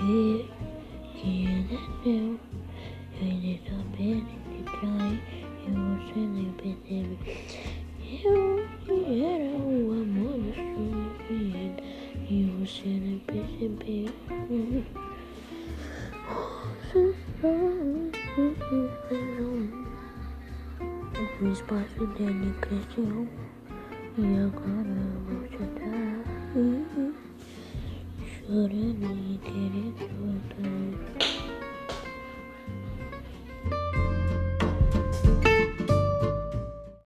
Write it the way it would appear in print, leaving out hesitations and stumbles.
ver que ele é seu. Ele só pensa em te trair e você nem percebe. Eu era o amor da sua vida e você nem percebeu. O espaço dele cresceu e agora você tá chorando e querendo voltar.